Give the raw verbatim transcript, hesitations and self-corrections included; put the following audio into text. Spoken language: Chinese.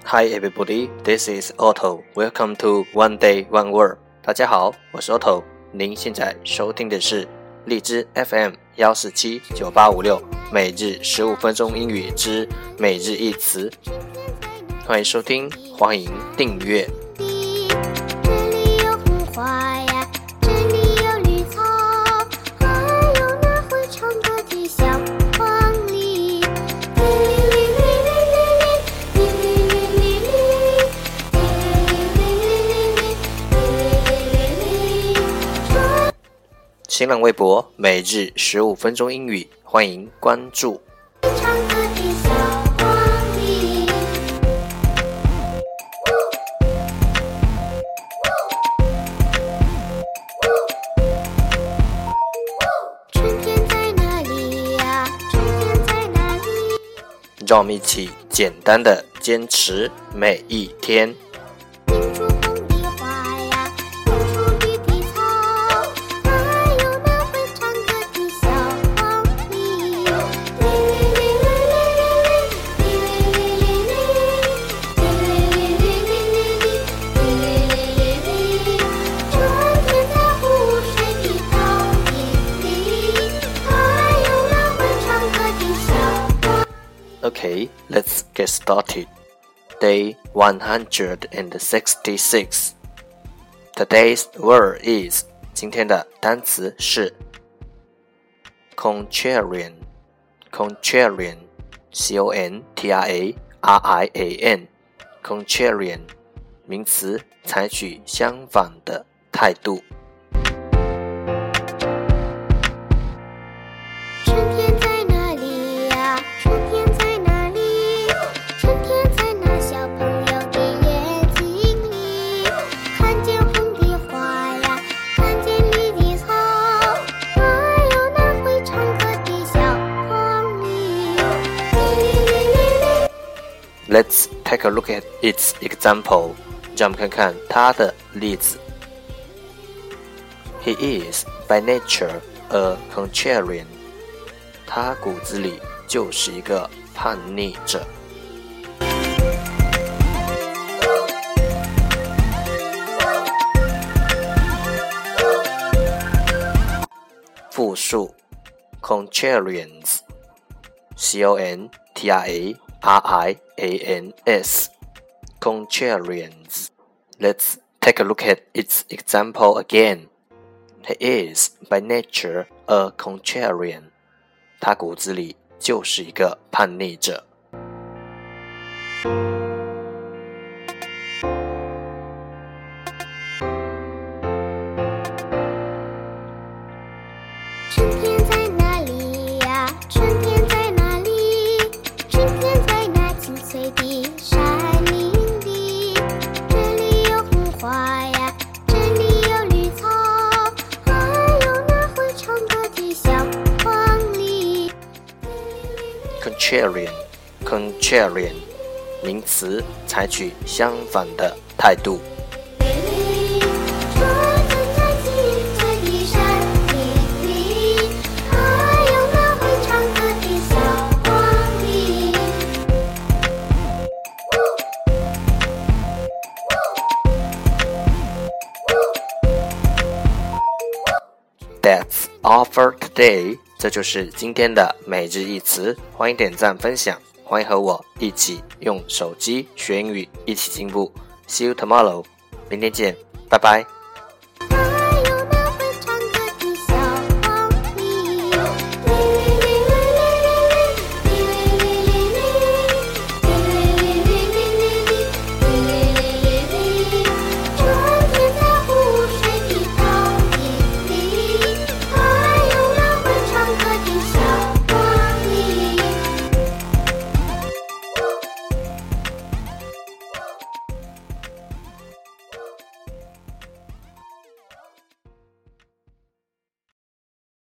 Hi everybody, this is Otto. Welcome to One Day One Word. 大家好，我是 Otto。您现在收听的是荔枝 F M 一四七九八五六，每日十五分钟英语之每日一词。欢迎收听，欢迎订阅。 这里有红花呀，这里有绿草，还有那会唱歌的小黄鹂。 新浪微博每日十五分钟英语，欢迎关注。 唱歌的小黄鹂。春天在哪里呀？春天在哪里？ 让我们一起简单的坚持每一天。 拼出红的花呀，拼出绿的草，还有那会唱歌的小黄鹂。春天在湖水的高地里，还有那会唱歌的小黄。 Okay, let's get started. Day one hundred sixty-six. Today's word is 今天的单词是 contrarian. Contrarian. C O N T R A R I A N. Contrarian. 名词，采取相反的态度。 春天在哪里呀？春天在哪里？春天在那小朋友的眼睛里，看见红的花呀，看见绿的草，还有那会唱歌的小黄鹂。 Let's take a look at its example. 让我们看看它的例子。He is by nature a contrarian. 他骨子里就是一个叛逆者。复数 contrarians. C O N T R A R I A N S. Contrarians. Let's take a look at its example again. He is by nature a contrarian. 他骨子里就是一个叛逆者。 春天在哪里呀？春天在哪里？春天在那青翠的山林里，这里有红花呀，这里有绿草，还有那会唱歌的小黄鹂。 Contrarian. Contrarian. 名词，采取相反的态度。That's all for today. 这就是今天的每日一词，欢迎点赞分享，欢迎和我一起用手机学英语，一起进步。See you tomorrow. 明天见，拜拜。